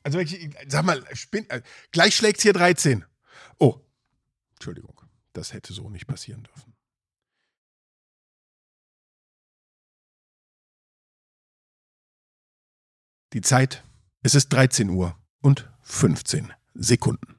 Also sag mal, gleich schlägt's hier 13. Oh, gleich schlägt's hier 13. Oh, Entschuldigung, das hätte so nicht passieren dürfen. Die Zeit, es ist 13 Uhr und 15 Sekunden.